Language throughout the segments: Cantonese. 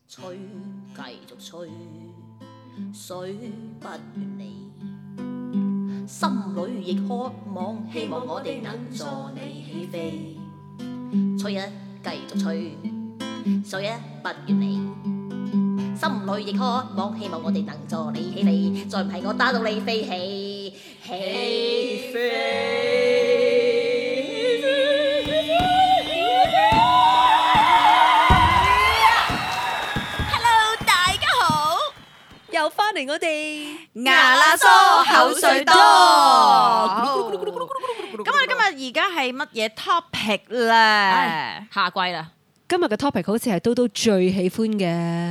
吹，繼續吹，水不怨你，心裏亦渴望，希望我哋能助你起飛。吹啊，繼續吹，水啊不怨你，心裏亦渴望，希望我哋能助你起飛。再唔係我打到你飛起，起飛。 又翻嚟我哋牙罅疏口水多。咁我哋今日而家係乜嘢 topic 咧？ 夏季啦。 今日嘅 topic 好似係都最喜歡嘅，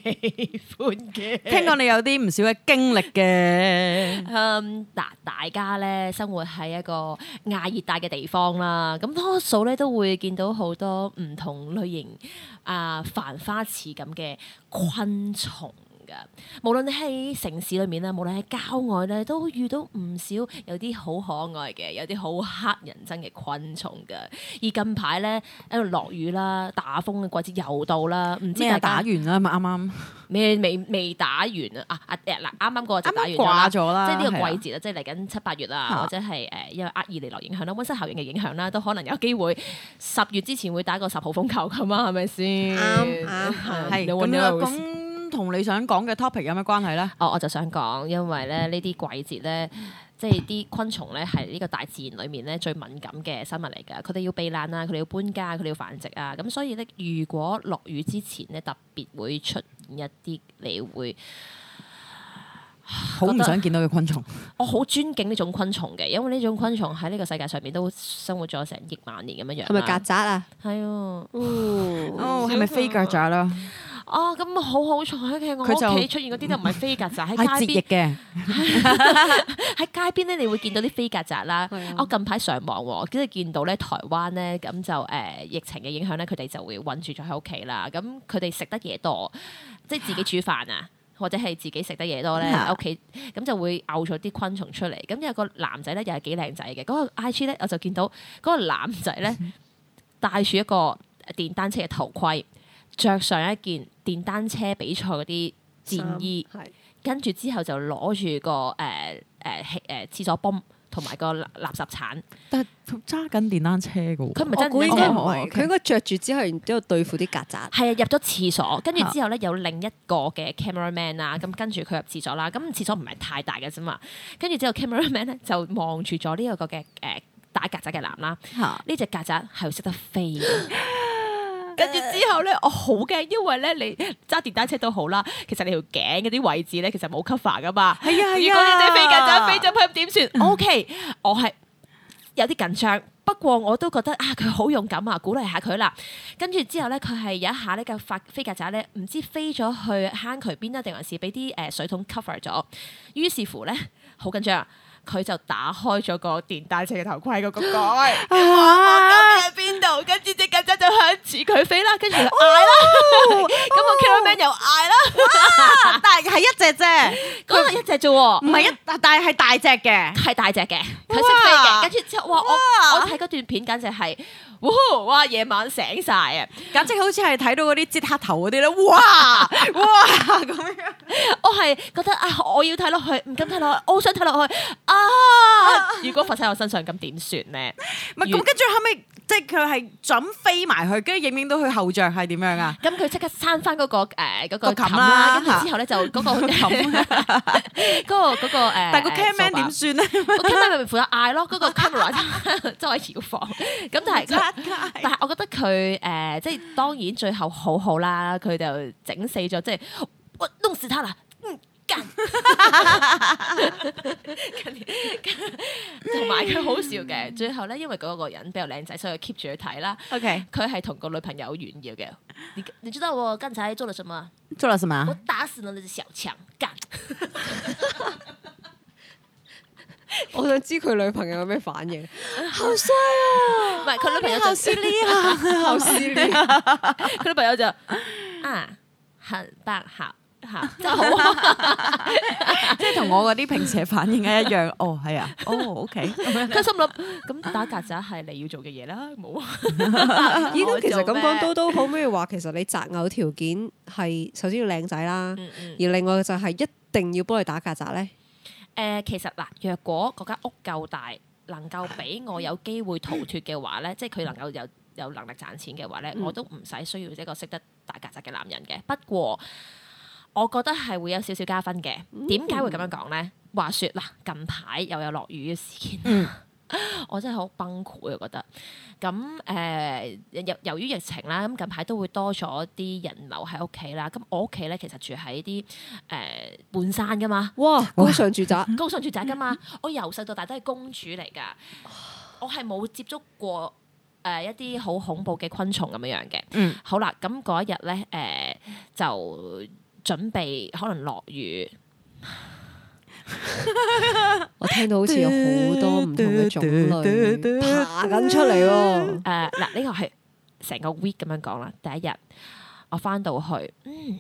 聽講你有啲唔少嘅經歷嘅。 嗱，大家咧生活喺一個亞熱帶嘅地方啦，咁多數咧都會見到好多唔同類型繁花似錦嘅昆蟲。無論你喺城市裏面咧，無論喺郊外咧，都遇到唔少有啲好可愛嘅，有啲好乞人憎嘅昆蟲㗎。而近排咧喺度落雨啦，打風嘅季節又到啦，唔知大家打完啦嘛？啱啱未打完啊！嗱，啱啱嗰個就打完掛咗啦， 即係呢個季節啊，即係嚟緊7、8月啦，或者係因為厄爾尼諾影響啦、溫室效應嘅影響啦，都可能有機會10月之前會打個10號風球㗎嘛，係咪先？ 啱係咁。同你想講嘅 topic 有咩關係咧？ 我就想講，因為咧呢啲季節咧，即係啲昆蟲咧係呢個大自然裏面咧最敏感嘅生物嚟㗎。佢哋要避難啊，佢哋要搬家，佢哋要繁殖啊。咁所以咧，如果落雨之前咧，特別會出現一啲你會好唔想見到嘅昆蟲。 我好尊敬呢種昆蟲嘅，因為呢種昆蟲喺呢個世界上面都生活咗成億萬年咁樣樣。 係咪曱甴啊？ 係啊。 係咪飛曱甴啦？ 咁好彩嘅，我屋企出現嗰啲都唔係飛曱甴，喺街邊嘅。 喺街邊咧，你會見到啲飛曱甴啦。我近排上網喎，跟住見到咧台灣咧，咁就疫情嘅影響咧，佢哋就會韞住咗喺屋企啦。咁佢哋食得嘢多，即係自己煮飯啊，或者係自己食得嘢多咧喺屋企，咁就會嘔咗啲昆蟲出嚟。咁有個男仔咧，又係幾靚仔嘅。嗰個 IG 咧，我就見到嗰個男仔咧戴住一個電單車嘅頭盔。着上一件電單車比賽嗰啲戰衣，跟住之後就攞住個廁所泵同埋個垃圾鏟。但係揸緊電單車嘅喎， 佢唔係真係，佢應該着住之後，然之後對付啲曱甴。係啊， 入咗廁所，跟住之後咧有另一個嘅 cameraman 啦，咁跟住佢入廁所啦。咁廁所唔係太大嘅啫嘛，跟住之後 cameraman 咧就望住咗呢一個嘅打曱甴嘅男啦。呢隻曱甴係會識得飛嘅。跟住之後咧，我好驚，因為咧你揸電單車都好啦，其實你條頸嗰啲位置咧，其實冇 cover 噶嘛。係啊，如果你隻飛曱甴飛咗去點算？OK，我係有啲緊張，不過我都覺得佢好勇敢啊，鼓勵下佢啦。跟住之後咧，佢係有一下呢個飛曱甴咧，唔知飛咗去坑渠邊啊，定還是俾啲水桶 cover 咗。於是乎咧，好緊張。佢就打開咗個電單車嘅頭盔嗰個蓋，我究竟喺邊度？跟住隻曱甴就向住佢飛啦，跟住佢嗌啦，咁個 cameraman 又嗌啦， 但係一隻啫， 嗰個一隻啫喎， 唔係但係大隻嘅， 係大隻嘅，佢識飛嘅，跟住之後，我睇嗰段片簡直係。哇！夜晚醒晒啊， 簡直好似係睇到嗰啲擠黑頭嗰啲咧，哇咁樣。 我係覺得我要睇落去，唔敢睇落去，我好想睇落去如果發生喺我身上，咁點算咧？ 唔係咁，跟住後尾即係佢係準飛埋去，跟住影到佢後著係點樣啊？ 咁佢即刻閂翻嗰個冚啦，跟住之後咧就嗰個冚嗰個但係個 cameraman 點算咧？ 個 cameraman 咪負責嗌咯，嗰個 camera 周圍搖晃。咁但係我覺得佢即係當然最後好好啦，佢就整死咗，即係我弄死他啦，幹！同埋佢好笑嘅，最後咧因為嗰個人比較靚仔，所以 keep 住去睇啦。OK， 佢係同個女朋友炫耀嘅。你知道我剛才做了什麼？ 做了什麼？ 我打死了那隻小強，幹！ 我想知佢女朋友有咩反應？ 好衰啊！ 唔係佢女朋友就好犀利啊！好犀利啊！ 佢女朋友就很棒，好嚇，真係好， 即係同我嗰啲平時嘅反應係一樣。哦，係啊，哦，OK。 佢心諗咁打曱甴係你要做嘅嘢啦，冇啊。 依家其實咁講都可唔可以話，其實你擇偶條件係首先要靚仔啦，而另外就係一定要幫你打曱甴咧。 其實嗱，若果嗰間屋夠大，能夠俾我有機會逃脫嘅話咧，即係佢能夠有能力賺錢嘅話咧，我都唔使需要一個識得打曱甴嘅男人嘅。不過我覺得係會有少少加分嘅。點解會咁樣講咧？話說嗱，近排又有落雨嘅事件，我真係好崩潰啊！覺得咁由於疫情啦，咁近排都會多咗啲人流喺屋企啦。咁我屋企咧其實住喺啲半山噶嘛， 哇，高尚住宅， 高尚住宅噶嘛。我由細到大都係公主嚟㗎，我係冇接觸過一啲好恐怖嘅昆蟲咁樣樣嘅。好啦，咁嗰一日咧就準備可能落雨。 我聽到好似有好多唔同嘅種類爬緊出嚟喎。 嗱，呢個係成個 week 咁樣講啦。第一日我翻到去，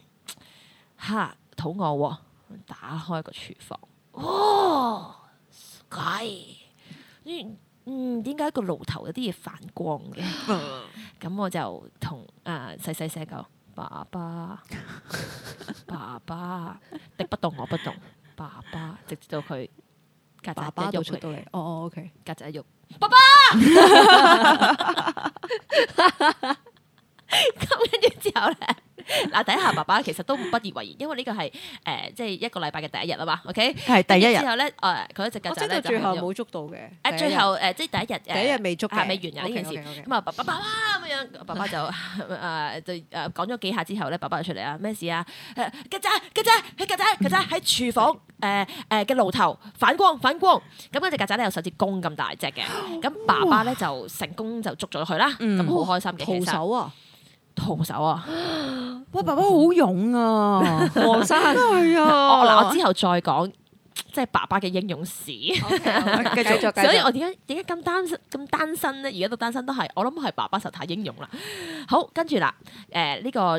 肚餓喎，打開個廚房，哇，點解個爐頭有啲嘢反光嘅？咁我就同細細聲講：爸爸，敵不動我不動。爸爸，直至到佢曱甴一喐出到嚟， OK， 曱甴一喐，爸爸，咁跟住之後咧，嗱，第一下爸爸其實都不以為然，因為呢個係即係一個禮拜嘅第一日啊嘛 ，OK， 係第一日之後咧，佢一隻曱甴咧就最後冇捉到嘅， 最後即係第一日未捉嘅， 未完嘅呢件事，咁啊爸爸咁樣，爸爸就講咗幾下之後咧，爸爸就出嚟啊，咩事啊？曱甴喺廚房嘅爐頭反光，咁嗰隻曱甴咧有手指公咁大隻嘅，咁爸爸咧就成功就捉咗佢啦，咁好開心嘅，其實徒手啊！ 哇，爸爸好勇啊， 黃生係啊！ 我之後再講，即係爸爸嘅英勇史。繼續。所以我點解咁單身咧？而家都單身都係，我諗係爸爸實太英勇啦。好，跟住啦，呢個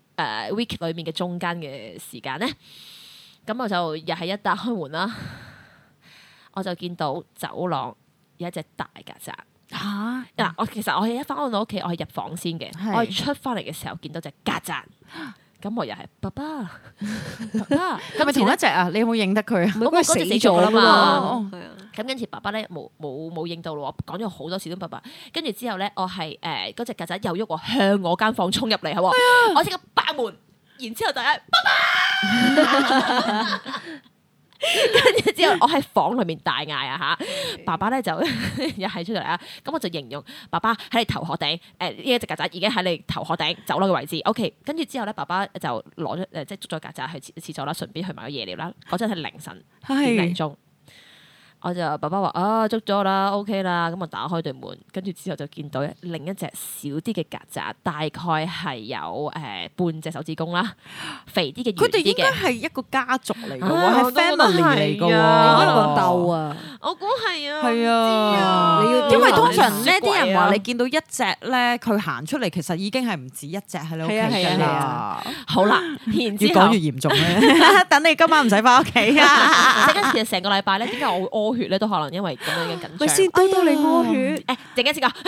week 裏面嘅中間嘅時間咧，咁我就又係一打開門啦，我就見到走廊有一隻大曱甴。嗱，我其實我係一翻到屋企，我係入房先嘅。我係出翻嚟嘅時候見到隻曱甴，咁我又係爸爸，係咪同一隻啊？你有冇認得佢啊？嗰個死咗啦嘛。咁跟住爸爸咧冇認到咯，講咗好多次都爸爸。跟住之後咧，我係嗰隻曱甴又喐喎，向我間房衝入嚟，係喎，我即刻爆門，然之後大家爸爸。跟住之後，我喺房裏面大嗌啊嚇！爸爸咧就又係出嚟啊！咁我就形容爸爸喺你頭殼頂，呢一隻曱甴已經喺你頭殼頂走廊嘅位置。OK， 跟住之後咧，爸爸就攞咗即係捉咗曱甴去廁所啦，順便去買咗夜料啦。嗰陣係凌晨點零鐘。我就爸爸話捉咗啦 ，OK 啦，咁我打開對門，跟住之後就見到另一隻小啲嘅曱甴，大概係有半隻手指公啦，肥啲嘅， 佢哋應該係一個家族嚟嘅喎，係 family 嚟嘅喎， 可能個竇啊， 我估係啊， 係啊，因為通常呢啲人話你見到一隻咧，佢行出嚟其實已經係唔止一隻喺你屋企㗎啦。 好啦，然之後越講越嚴重咧，等你今晚唔使翻屋企啊！ 其實成個禮拜咧，點解我會屙血咧？都可能因為咁樣嘅緊張。 咪先到你屙血， 陣間先講。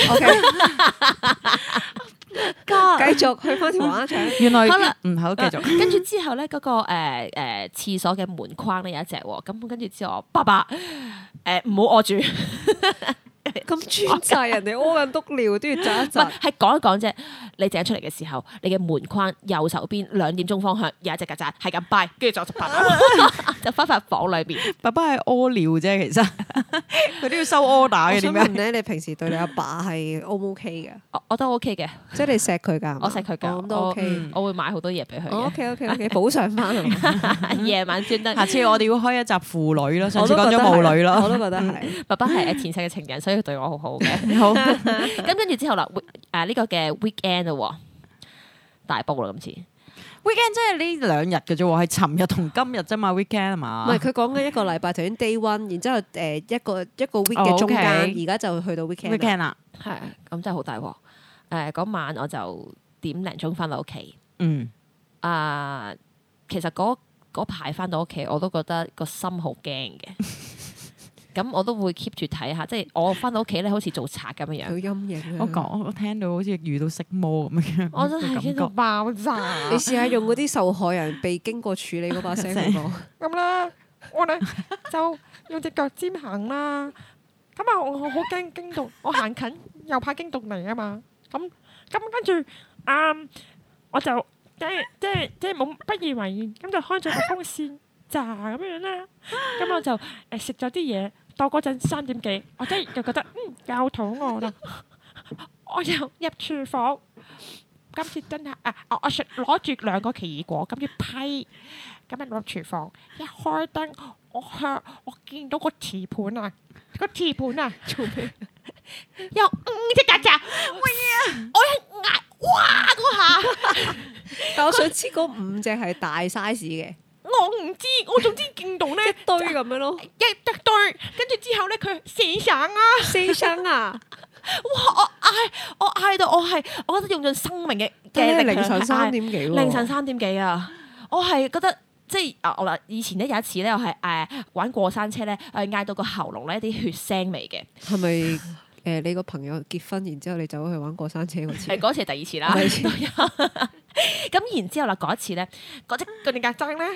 繼續去翻條橫牆。 原來好啦， 好繼續。跟住之後咧，嗰個廁所嘅門框咧有一隻喎，咁跟住之後，爸爸唔好屙住。 咁專制，人哋屙緊篤尿都要窒一窒。 係講一講啫。你掟出嚟嘅時候，你嘅門框右手邊2點鐘方向有一隻曱甴，係咁拜，跟住就就翻返房裏邊。 爸爸係屙尿啫，其實佢都要收 order 嘅。點解咧？你平時對你阿爸係 O 唔 OK 嘅？ 我都 OK 嘅， 即係你錫佢㗎。我錫佢㗎， 咁都 OK。 我會買好多嘢俾佢。 OK，補償翻。 夜晚專登。 下次我哋要開一集父女咯，上次講咗母女咯。 我都覺得係。 爸爸係前世嘅情人，所以佢對我好好嘅。好。咁跟住之後啦，呢個嘅 weekend 咯，大煲啦今次。 weekend 即係呢2日嘅啫喎，係尋日同今日啫嘛 weekend 係嘛？ 唔係，佢講緊一個禮拜，頭先 day one，然之後一個 week 嘅中間，而家就去到 weekend 啦。 係，咁真係好大鑊。嗰晚我就1點鐘翻到屋企。 其實嗰排翻到屋企，我都覺得個心好驚嘅。咁我都會 keep 住睇下，即係我翻到屋企咧，好似做賊咁樣樣。 有陰影。 我聽到好似遇到色魔咁樣。 我真係驚到爆炸。 你試下用嗰啲受害人被經過處理嗰把聲去講。 咁啦，我咧就用隻腳尖行啦。咁啊，我好驚到，我行近又怕驚到嚟啊嘛。咁跟住我就即係冇不以為然，咁就開咗個風扇炸咁樣啦。咁我就食咗啲嘢。到嗰陣3點幾，我真係就覺得夠肚餓啦，我就入廚房。今次真係我攞住2個奇異果，咁要批，咁入廚房一開燈，我見到個瓷盤啊，做咩？有5隻曱甴，我一嗌哇嗰下， 但我想知嗰5隻係大 size 嘅。 我唔知，我總之見到咧一堆咁樣咯， 一堆，跟住之後咧佢4聲啊！ 哇！我嗌到我覺得用盡生命嘅力凌晨3點幾喎， 凌晨3點幾啊！我係覺得即係我以前咧有一次咧，我係玩過山車咧，嗌到個喉嚨咧一啲血腥味嘅。 係咪你個朋友結婚，然之後你走去玩過山車嗰次？ 嗰次係第2次啦。咁然之後啦，嗰一次咧，嗰隻曱甴咧，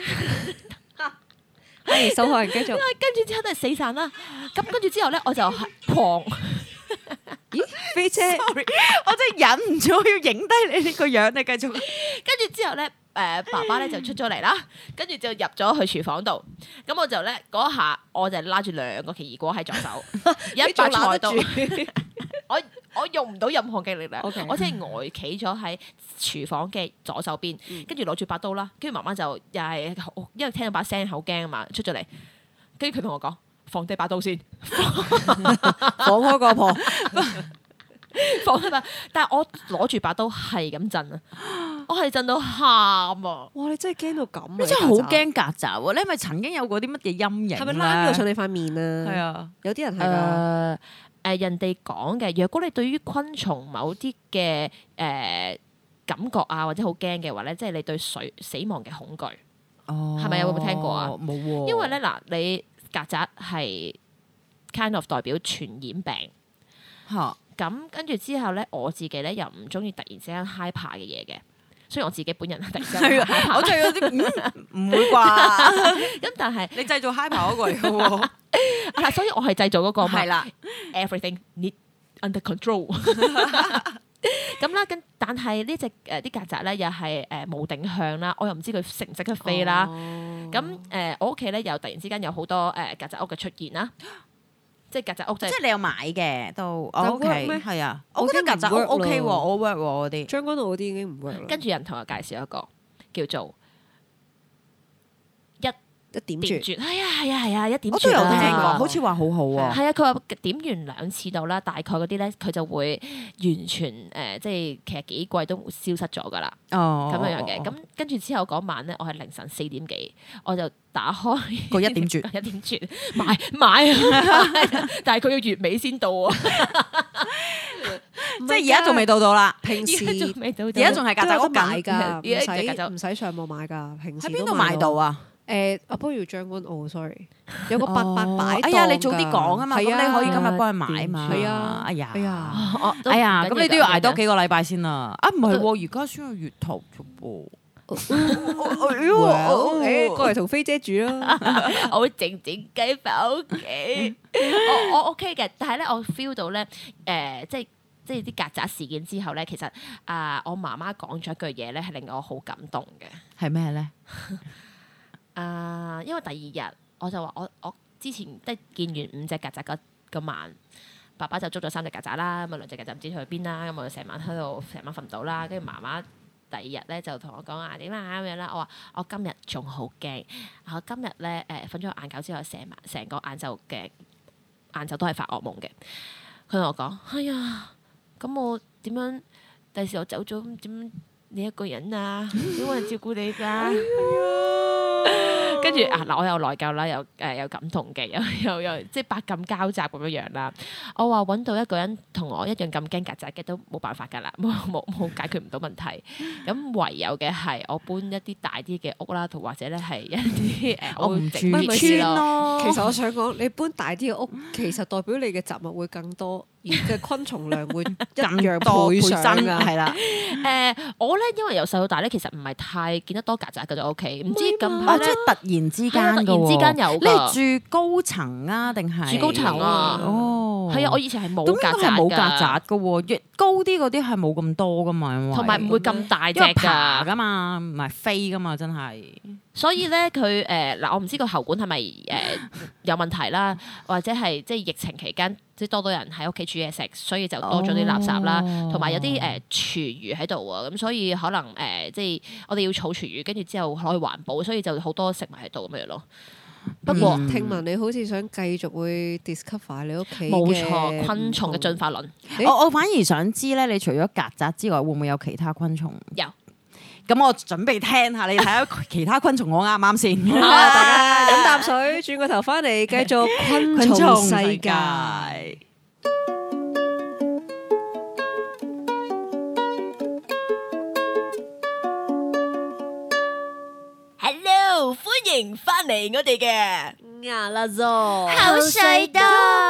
係受害人繼續。 跟住之後都係死散啦。咁跟住之後咧，我就狂。 咦，飛車 sorry， 我真係忍唔住要影低你呢個樣，你繼續。 跟住之後咧，爸爸咧就出咗嚟啦，跟住就入咗去廚房度。咁我就咧嗰下，我就拉住2個奇異果喺左手，一把菜刀。我用唔到任何嘅力量，okay，我只係呆企咗喺廚房嘅左手邊，跟住攞住把刀啦。跟住媽媽就又係因為聽到把聲好驚啊嘛，出咗嚟。跟住佢同我講：放低把刀先， 放開個婆， 放低把。但係我攞住把刀係咁震啊，我係震到喊啊！ 哇！你真係驚到咁啊！ 你真係好驚曱甴喎！你係咪曾經有過啲乜嘢陰影？ 係咪拉到上你塊面啊？ 係啊，有啲人係㗎。 人哋講嘅，若果你對於昆蟲某啲嘅感覺啊，或者好驚嘅話咧，即係你對死亡嘅恐懼，係咪有冇聽過啊？ 冇喎。因為咧嗱，你曱甴係 kind of 代表傳染病嚇，咁跟住之後咧，我自己咧又唔中意突然之間 hyper 嘅嘢嘅，雖然我自己本人突然之間我就有啲唔會啩， 咁但係你製造 hyper 嗰個嚟嘅喎。 所以我係製造嗰個嘛， 係啦 ，everything need under control。咁啦，但係呢隻啲曱甴咧又係冇定向啦，我又唔知佢識唔識得飛啦。咁我屋企咧又突然之間有好多曱甴屋嘅出現啦，即係曱甴屋即係你有買嘅都 OK 係啊， 我覺得曱甴屋 OK 喎，我 work 喎嗰啲。 將軍澳嗰啲已經唔 work 啦。 跟住人同我介紹一個叫做一點絕， 係啊，一點絕。 我都有聽過，好似話好好喎。 係啊，佢話點完2次到啦，大概嗰啲咧，佢就會完全即係其實幾季都消失咗㗎啦。咁樣嘅。咁跟住之後嗰晚咧，我係凌晨4點幾，我就打開個一點絕， 一點絕買，但係佢要月尾先到啊！ 即係而家仲未到啦。 平時而家仲係曱甴屋買㗎， 唔使上網買㗎。平時喺邊度買到啊？ 不如將軍澳 sorry， 有個伯伯擺檔㗎。 哎呀，你早啲講啊嘛，咁你可以今日幫佢買嘛。 係啊， 哎呀，咁你都要捱多幾個禮拜先啦。啊，唔係喎，而家先係月頭啫噃。 過嚟同飛姐住啦。 我會靜靜雞翻屋企。我 OK 嘅，但係咧我 feel 到咧即係啲曱甴事件之後咧，其實我媽媽講咗一句嘢咧，係令我好感動嘅。 係咩咧？ 因為第2日我就話我之前即係見完5隻曱甴嗰晚，爸爸就捉咗3隻曱甴啦，咁啊2隻曱甴唔知去邊啦，咁我就成晚瞓唔到啦，跟住媽媽第2日咧就同我講話點啊咁樣啦，我話我今日仲好驚，我今日咧瞓咗個晏覺之後，成個晏晝都係發噩夢嘅。佢同我講：哎呀，咁我點樣？第時我走咗點？你一個人啊，點會人照顧你㗎？ 跟住嗱，我又內疚啦，又感動嘅，又即係百感交集咁樣樣啦。我話揾到一個人同我一樣咁驚曱甴嘅都冇辦法㗎啦，冇解決唔到問題。咁唯有嘅係我搬一啲大啲嘅屋啦，同或者咧係一啲我唔住村咯。 其實我想講，你搬大啲嘅屋，其實代表你嘅雜物會更多，而嘅昆蟲量會一樣倍上㗎，係啦。 我咧因為由細到大咧，其實唔係太見得多曱甴嘅就 OK。唔知近排即係突然之間突然之間有㗎。 你係住高層啊，定係住高層啊？ 哦， 係啊，我以前係冇曱甴㗎。 冇曱甴㗎喎，越高啲嗰啲係冇咁多㗎嘛， 同埋唔會咁大隻㗎嘛，唔係飛㗎嘛，真係。 所以咧，佢嗱，我唔知個喉管係咪有問題啦，或者係即係疫情期間即係多人喺屋企煮嘢食，所以就多咗啲垃圾啦，同埋有啲廚餘喺度啊，咁所以可能即係我哋要儲廚餘，跟住之後可以環保，所以就好多食物喺度咁樣咯。不過聽聞你好似想繼續會 discover 你屋企冇錯昆蟲嘅進化論。 我反而想知咧，你除咗曱甴之外，會唔會有其他昆蟲？ 有。 咁我準備聽下，你睇下其他昆蟲我啱唔啱先？ 大家飲啖水，轉個頭翻嚟繼續昆蟲世界。 Hello，歡迎翻嚟我哋嘅牙啦咗口水多。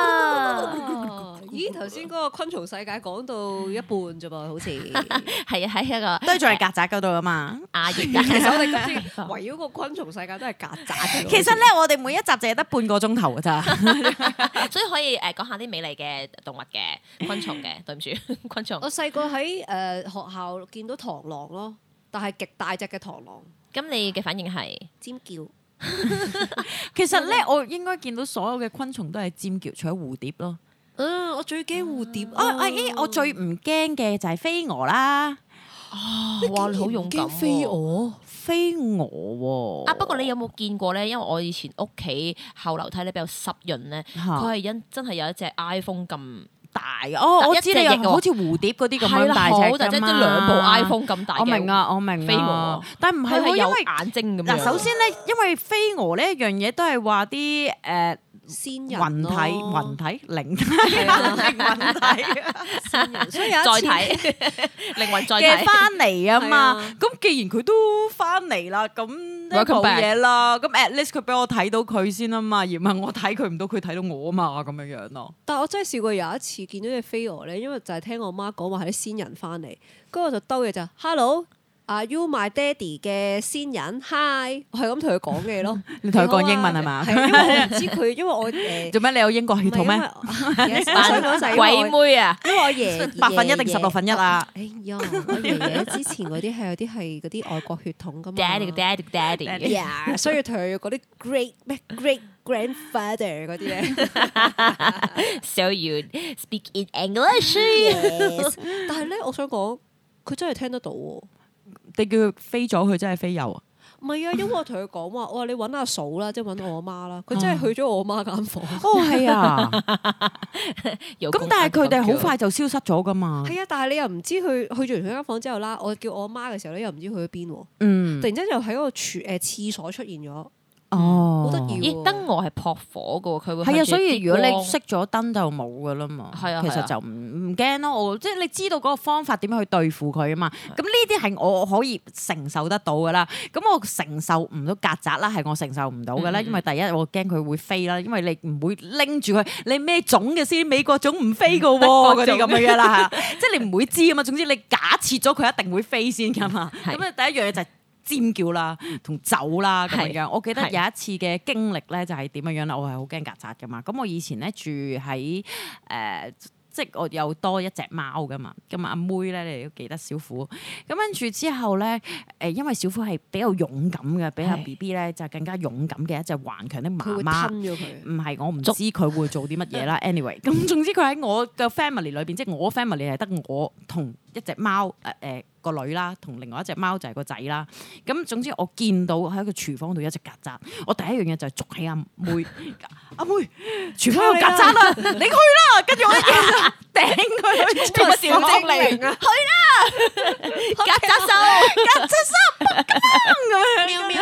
咦，頭先嗰個昆蟲世界講到一半啫噃，好似係啊，喺一個都仲係曱甴嗰度啊嘛。 其實我哋今次圍繞個昆蟲世界都係曱甴。 其實咧，我哋每一集淨係得半個鐘頭㗎咋， 所以可以講下啲美麗嘅動物嘅昆蟲嘅。對唔住，昆蟲。 我細個喺學校見到螳螂咯，但係極大隻嘅螳螂。 咁你嘅反應係尖叫？ 其實咧，我應該見到所有嘅昆蟲都係尖叫，除咗蝴蝶咯。 我最驚蝴蝶我最唔驚嘅就係飛蛾啦。 哇，你好勇敢喎！ 飛蛾喎。 不過你有冇見過咧？因為我以前屋企後樓梯咧比較濕潤咧，佢係真係有一隻 iPhone 咁大嘅。 我知你好似蝴蝶嗰啲咁樣大隻㗎嘛， 即係兩部 iPhone 咁大嘅。 我明飛蛾， 但唔係有因為眼睛咁樣。 嗱，首先咧，因為飛蛾呢一樣嘢都係話啲仙人雲體靈體， 仙人，所以有載體靈魂載體嘅翻嚟啊嘛。咁既然佢都翻嚟啦，咁冇嘢啦。咁 at least 佢俾我睇到佢先啊嘛，而唔係我睇佢唔到，佢睇到我啊嘛，咁樣樣咯。 但係我真係試過有一次見到隻飛蛾咧，因為就係聽我媽講話係啲仙人翻嚟，跟住我就兜嘢就 Hello。Are you my daddy 嘅仙人 Hi， 我係咁同佢講嘅咯。 你同佢講英文係嘛？ 係因為我唔知佢，因為我做咩？你有英國血統咩？ 鬼妹啊！ 因為我爺 8分1定16分1啊！ 哎呀，我爺爺之前嗰啲係有啲係嗰啲外國血統噶嘛。 Daddy， yeah， 所以同佢嗰啲 great grandfather 嗰啲咧。 So you speak in English？ Yes， 但係咧，我想講，佢真係聽得到喎。 你叫佢飛咗，佢真係飛有啊？ 唔係啊，因為我同佢講話，我話你揾阿嫂啦，即係揾我阿媽啦。佢真係去咗我阿媽間房。 哦，係啊。咁但係佢哋好快就消失咗噶嘛？ 係啊，但係你又唔知佢去咗完佢間房之後啦，我叫我阿媽嘅時候咧，又唔知去咗邊喎。突然之間又喺嗰個廁所出現咗。 哦， 好得意喎！ 燈蛾係撲火嘅喎，佢會係啊，所以如果你熄咗燈就冇㗎啦嘛。 係啊， 其實就唔驚咯。即係你知道嗰個方法點樣去對付佢啊嘛。咁呢啲係我可以承受得到㗎啦。咁我承受唔到曱甴啦，係我承受唔到㗎啦。因為第一我驚佢會飛啦，因為你唔會拎住佢，你咩種嘅先？美國種唔飛㗎喎，嗰啲咁嘅嘢啦，即係你唔會知啊嘛。總之你假設咗佢一定會飛先㗎嘛。咁啊，第一樣嘢就係尖叫啦，同走啦咁樣。我記得有一次嘅經歷咧，就係點樣樣啦。我係好驚曱甴噶嘛。咁我以前咧住喺即係我有多一隻貓噶嘛。咁阿妹咧，你哋都記得小虎。咁跟住之後咧，因為小虎係比較勇敢嘅，比阿 B B 咧就更加勇敢嘅一隻頑強的媽媽。佢會吞咗佢。唔係，我唔知佢會做啲乜嘢啦。Anyway，咁總之佢喺我嘅 family 裏邊，即係我 family 係得我同一隻貓個女啦，同另外一隻貓就係個仔啦。咁總之我見到喺個廚房度有一隻曱甴，我第一樣嘢就係捉起阿妹，阿妹，廚房有曱甴啦，你去啦！跟住我一嘢頂佢，做乜小精靈啊？去啦！曱甴手，咁樣， 你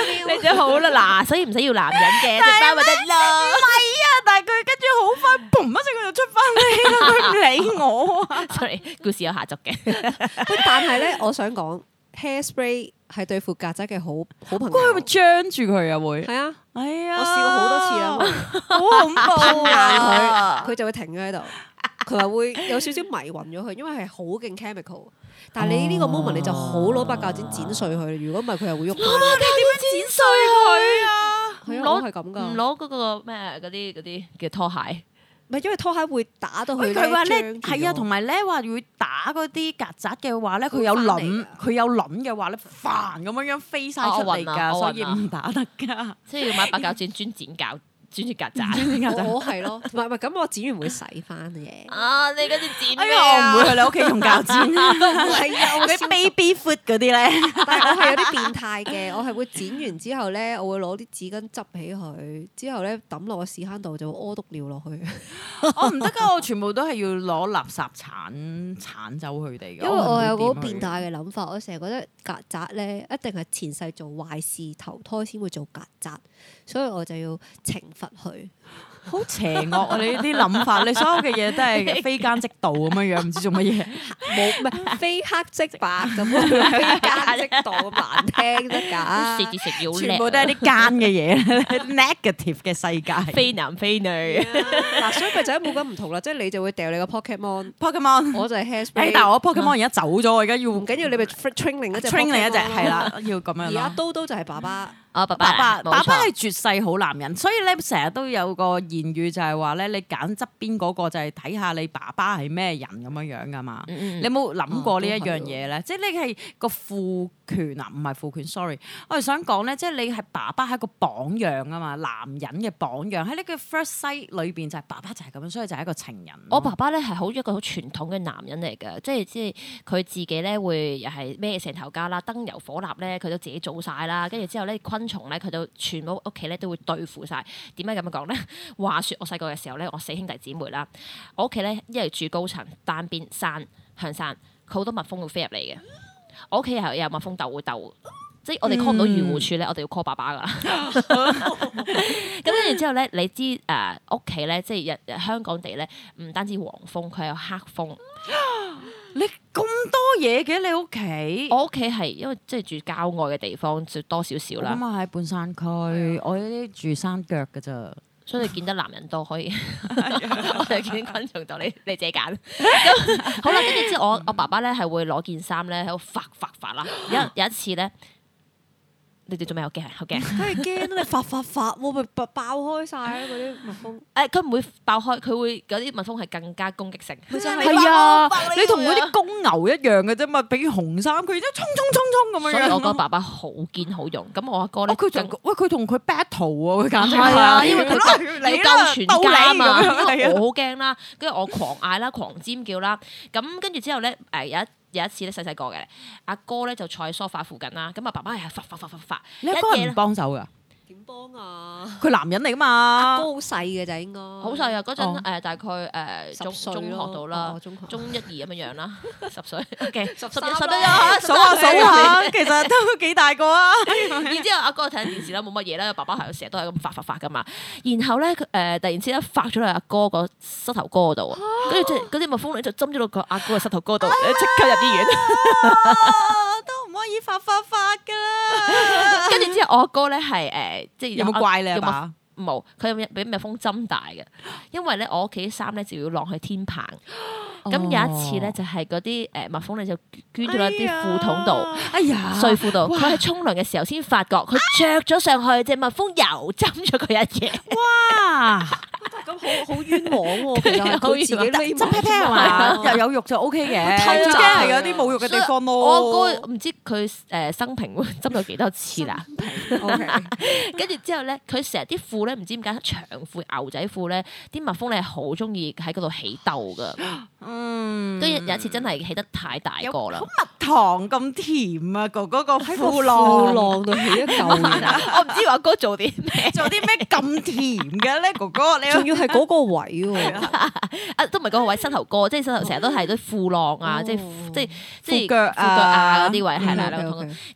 咗好啦，嗱，所以唔使要男人嘅，隻包咪得咯。 唔係啊，但係佢跟住好快，砰一聲佢就出翻嚟啦，佢唔理我啊。 Sorry， 故事有下集嘅。 但係咧，我想講 hairspray 係對付曱甴嘅好朋友。 佢咪張住佢啊？會係啊， 係啊， 我試過好多次啦， 好恐怖啊！ 佢就會停咗喺度。佢話會有少少迷暈咗佢，因為係好勁 chemical。但係你呢個 moment 你就好攞把鉸剪剪碎佢，如果唔係佢又會喐。 你點樣剪碎佢啊？ 係啊，我係咁噶。 唔攞嗰個咩嗰啲嘅拖鞋。 唔係因為拖鞋會打到佢。 佢話咧係啊，同埋咧話會打嗰啲曱甴嘅話咧，佢有卵嘅話咧，煩咁樣飛晒出嚟㗎，所以唔打得㗎。 即係要買把鉸剪專剪曱甴。 我係咯，唔係咁我剪完會洗翻嘅。 啊！你嗰啲剪咩我唔會去你屋企用鉸剪。 係啊， 嗰啲 baby foot 嗰啲咧。 但係我係有啲變態嘅，我係會剪完之後咧，我會攞啲紙巾執起佢，之後咧抌落個屎坑度就會屙督尿落去。 我唔得㗎，我全部都係要攞垃圾鏟走佢哋㗎。 因為我有個好變態嘅諗法，我成日覺得曱甴咧一定係前世做壞事投胎先會做曱甴，所以我就要懲罰佢。 好邪惡啊！你呢啲諗法，你所有嘅嘢都係非奸即盜咁樣樣，唔知做乜嘢。 冇唔係非黑即白咁樣，非奸即盜咁難聽得㗎。 食字食要叻， 全部都係啲奸嘅嘢，negative 嘅世界。 非男非女。 嗱，所以咪就係冇咁唔同啦，即係你就會掉你個 Pokemon， 我就係 hairspray。 但係我 Pokemon 而家走咗，我而家要唔緊要，你咪 train 另一隻 train 另一隻係啦，要咁樣咯。 而家刀就係爸爸。 爸爸係絕世好男人，所以咧成日都有個言語就係話咧，你揀側邊嗰個就係睇下你爸爸係咩人咁樣樣噶嘛。你有冇諗過呢一樣嘢咧？即係你係個父權啊，唔係父權。sorry， 我係想講咧，即係你係爸爸係一個榜樣啊嘛，男人嘅榜樣喺呢個 first sight 裏邊就係爸爸就係咁樣，所以就係一個情人。 我爸爸咧係一個好傳統嘅男人嚟嘅，即係佢自己咧會又係孭成頭家啦，燈油火蠟咧佢都自己做晒啦，跟住之後咧昆蟲咧佢就全部屋企咧都會對付晒。點解咁樣講咧？話說我細個嘅時候咧，我4兄弟姊妹啦，我屋企咧因為住高層單邊山向山，佢好多蜜蜂會飛入嚟嘅。我屋企又有蜜蜂竇會竇，即係我哋 call 唔到漁護處咧，我哋要 call 爸爸噶。咁跟住之後咧，你知屋企咧，即係香港地咧，唔單止黃蜂，佢有黑蜂。 你咁多嘢嘅你屋企？ 我屋企係因為即係住郊外嘅地方，就多少少啦。 咁啊喺半山區，我呢啲住山腳㗎咋。 所以你見得男人多可以，我就見昆蟲多，你自己揀。咁好啦，跟住之後我爸爸咧係會攞件衫咧喺度發啦。有一次咧，你哋做咩好驚？好驚！ 梗係驚啦！你發喎，咪爆開晒嗰啲蜜蜂。 佢唔會爆開，佢會嗰啲蜜蜂係更加攻擊性。 係啊，你同嗰啲公牛一樣嘅啫嘛，比如紅衫，佢都衝咁樣。 所以我覺得爸爸好堅好勇。咁我阿哥咧， 佢同佢 battle 啊，佢簡直係啊，因為佢要救全家啊嘛。我好驚啦，跟住我狂嗌啦，狂尖叫啦。咁跟住之後咧，有一次咧，細細個嘅阿哥咧就坐喺梳化附近啦，咁啊爸爸係發， 你阿哥唔幫手噶？ 點幫啊？ 佢男人嚟噶嘛？ 阿哥好細嘅就應該。 好細啊！嗰陣大概中學到啦，中1、2咁樣樣啦，10歲。OK， 11、12 數下，其實都幾大個啊！ 然之後阿哥睇緊電視啦，冇乜嘢啦，爸爸係成日都係咁發噶嘛。然後咧突然之間發咗落阿哥個膝頭哥嗰度，跟住嗰啲蜜蜂咧就針咗落個阿哥嘅膝頭哥度，即刻入醫院。 都唔可以發噶啦！ 跟住之後我阿哥咧係即係有冇怪你啊爸？ 冇，佢有俾蜜蜂針大嘅，因為咧我屋企啲衫咧就要晾去天棚。咁有一次咧就係嗰啲蜜蜂咧就捐咗一啲褲筒度，睡褲度。佢喺沖涼嘅時候先發覺，佢着咗上去，隻蜜蜂又針咗佢一嘢。哇！ 咁好冤枉喎，其實佢自己匿執 pat pat 係嘛？又有肉就 OK 嘅，最驚係有啲冇肉嘅地方咯。 我哥唔知佢生平會針咗幾多次啦。跟住之後咧，佢成日啲褲咧唔知點解長褲牛仔褲咧，啲蜜蜂咧好中意喺嗰度起竇噶。跟住有一次真係起得太大個啦， 蜜糖咁甜啊！嗰個褲浪浪度起一嚿嘢， 我唔知我哥做啲咩， 咁甜嘅咧，哥哥你仲要係嗰個位喎， 都唔係嗰個位，膝頭哥，即係膝頭成日都係啲褲浪啊，即係褲腳啊啊嗰啲位係啦。咁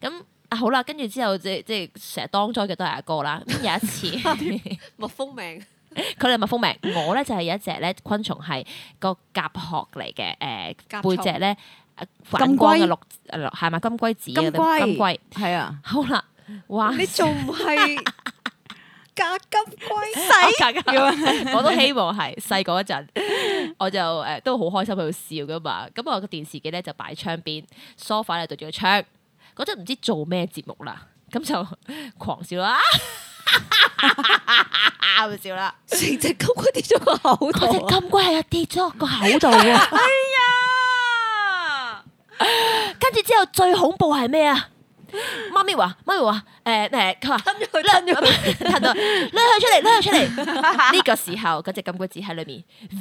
好啦，跟住之後即係成日當災嘅都係阿哥啦。咁有一次蜜蜂命， 佢哋蜜蜂命，我咧就係有一隻咧昆蟲係個甲殼嚟嘅，背脊咧反光嘅綠係咪金龜子啊？金龜係啊， 好啦，哇！ 你仲唔係假金龜？ 我都希望係細個嗰陣，我就都好開心喺度笑噶嘛。咁我個電視機咧就擺窗邊，sofa 咧對住個窗。嗰陣唔知做咩節目啦，咁就狂笑啦，咁笑啦， 成隻金龜跌咗個口度， 嗰隻金龜係跌咗個口度喎。 哎呀！ 跟住之後最恐怖係咩啊？媽咪話，佢話吞咗佢， 吞到，攞佢出嚟，攞佢出嚟。呢個時候嗰隻金龜子喺裏面。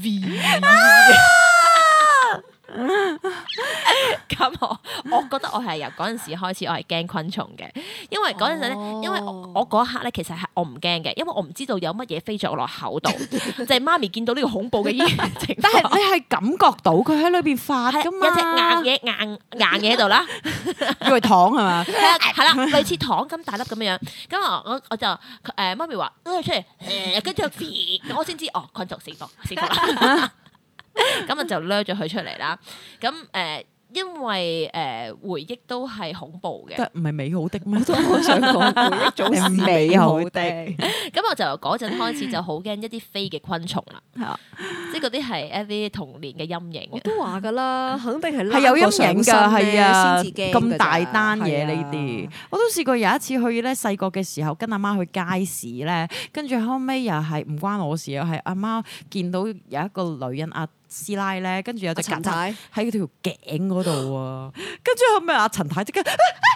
咁我覺得我係由嗰陣時開始，我係驚昆蟲嘅，因為嗰陣時咧，因為我嗰一刻咧，其實係我唔驚嘅，因為我唔知道有乜嘢飛咗我落口度，就係媽咪見到呢個恐怖嘅情況。 但係你係感覺到佢喺裏邊發噶嘛？ 有隻硬嘢喺度啦， 以為糖係嘛？ 係啦，類似糖咁大粒咁樣。咁我就媽咪話攞佢出嚟，跟住我先知哦，昆蟲死亡啦。咁就掠咗佢出嚟啦。咁因為回憶都係恐怖嘅， 唔係美好的咩？ 我都好想講回憶總是美好的。 咁我就由嗰陣開始就好驚一啲飛嘅昆蟲啦，即係嗰啲係一啲童年嘅陰影。 我都話㗎啦，肯定係有陰影㗎，係啊， 先至驚咁大單嘢呢啲， 係啊， 我都試過有一次去咧，細個嘅時候跟阿媽去街市咧，跟住後尾又係唔關我事啊，係阿媽見到有一個女人阿師奶咧，跟住有隻曱甴喺佢條頸嗰度啊，跟住後尾阿陳太即刻咁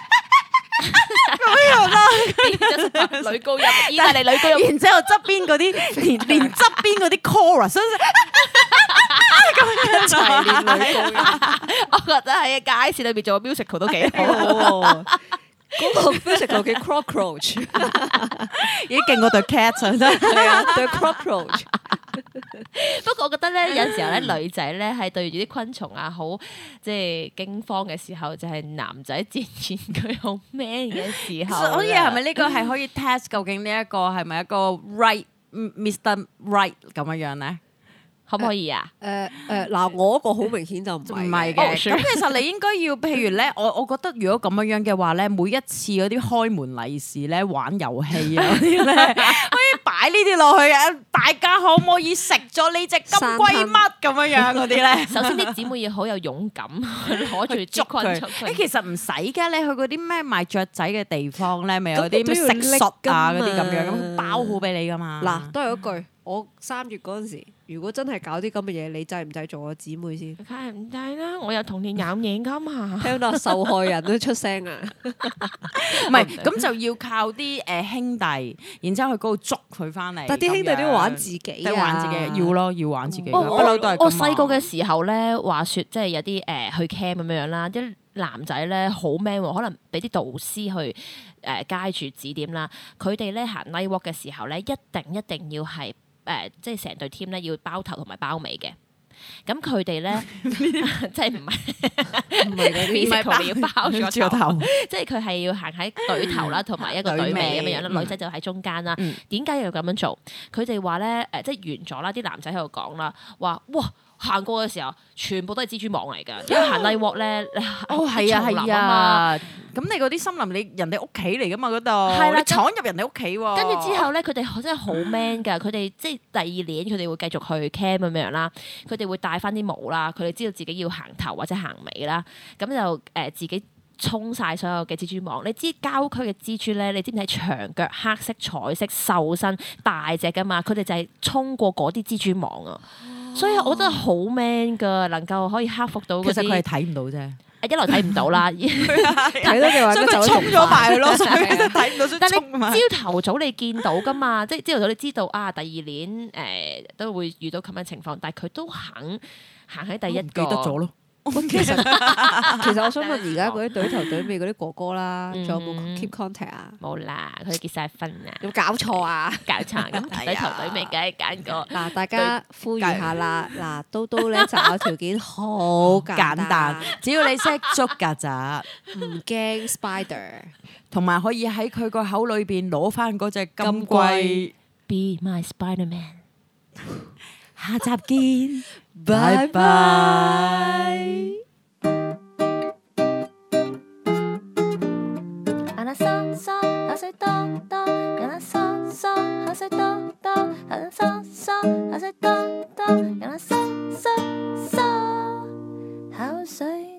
樣啦， 女高音，意大利女高音， 然之後側邊嗰啲連側邊嗰啲 chorus，咁樣齊練女高音， 我覺得喺街市裏邊做個 musical 都幾好。 嗰個 musical 嘅 cockroach 已經勁過對 cat 真係啊，對 cockroach。 不過我覺得咧，有時候咧，女仔咧係對住啲昆蟲啊，好即係驚慌嘅時候，就係男仔漸漸佢好 man 嘅時候。 所以係咪呢個係可以 test 究竟呢一個係咪一個 right Mr. Right 咁樣樣咧？ 可唔可以啊？ 嗱，我嗰個好明顯就唔係嘅。咁其實你應該要，譬如咧，我覺得如果咁樣樣嘅話咧，每一次嗰啲開門利是咧、玩遊戲啊嗰啲咧，可以擺呢啲落去嘅。大家可唔可以食咗呢隻金龜乜咁樣樣嗰啲咧？ 首先啲姊妹要好有勇敢，攞住捉昆蟲。 其實唔使㗎，你去嗰啲咩賣雀仔嘅地方咧，咪有啲咩食術啊嗰啲咁樣，咁包好俾你㗎嘛。 嗱，都係嗰句。我3月嗰陣時，如果真係搞啲咁嘅嘢，你制唔制做我姊妹先？ 梗係唔制啦！我有童年陰影㗎嘛。 聽到受害人都出聲啊！ 唔係，咁就要靠啲兄弟，然之後去嗰度捉佢翻嚟。 但啲兄弟都要玩自己啊！ 玩自己要咯，要玩自己。不嬲都係。 我細個嘅時候咧，話説即係有啲去 camp 咁樣啦，啲男仔咧好 man 喎，可能俾啲導師去街住指點啦。佢哋咧行 night walk 嘅時候咧，一定要係。即係成隊 team 咧要包頭同埋包尾嘅，咁佢哋咧即係唔係嗰啲，要包咗頭，即係佢係要行喺隊頭啦，同埋一個隊尾咁樣樣啦，女仔就喺中間啦。點解要咁樣做？佢哋話咧即係完咗啦，啲男仔喺度講啦，話哇行過嘅時候全部都係蜘蛛網嚟㗎，因為行 night walk 咧， 係啊。咁你嗰啲森林，你人哋屋企嚟噶嘛嗰度，係啦，你闖入人哋屋企喎。 跟住之後咧，佢哋真係好 man 㗎，佢哋即係第二年佢哋會繼續去 camp 咁樣啦，佢哋會帶翻啲毛啦，佢哋知道自己要行頭或者行尾啦，咁就自己衝晒所有嘅蜘蛛網。你知郊區嘅蜘蛛咧，你知唔知係長腳、黑色、彩色、瘦身、大隻㗎嘛？佢哋就係衝過嗰啲蜘蛛網啊！所以我覺得好 man 㗎，能夠可以克服到嗰啲。 其實佢係睇唔到啫。 一來睇唔到啦， 睇到嘅話所以佢衝咗埋去咯，所以睇唔到。 但係你朝頭早你見到噶嘛，即係朝頭早你知道啊，第二年都會遇到咁嘅情況，但係佢都肯行喺第一個。 記得咗咯， 其實我想問而家嗰啲隊頭隊尾嗰啲哥哥啦，仲有冇 keep contact 啊？ 冇啦，佢哋結晒婚啦。 有冇搞錯啊？ 搞錯咁隊頭隊尾梗係揀個嗱，大家呼籲下啦，嗱，刀刀咧擇偶條件好簡單， 只要你識捉曱甴， 唔驚 spider， 同埋可以喺佢個口裏邊攞翻嗰隻金龜。 Be my Spider-Man。 下集見，拜拜。 人啊嗦嗦，口水多多，人啊嗦嗦，口水多多，人啊嗦嗦，口水多多，人啊嗦嗦嗦，口水。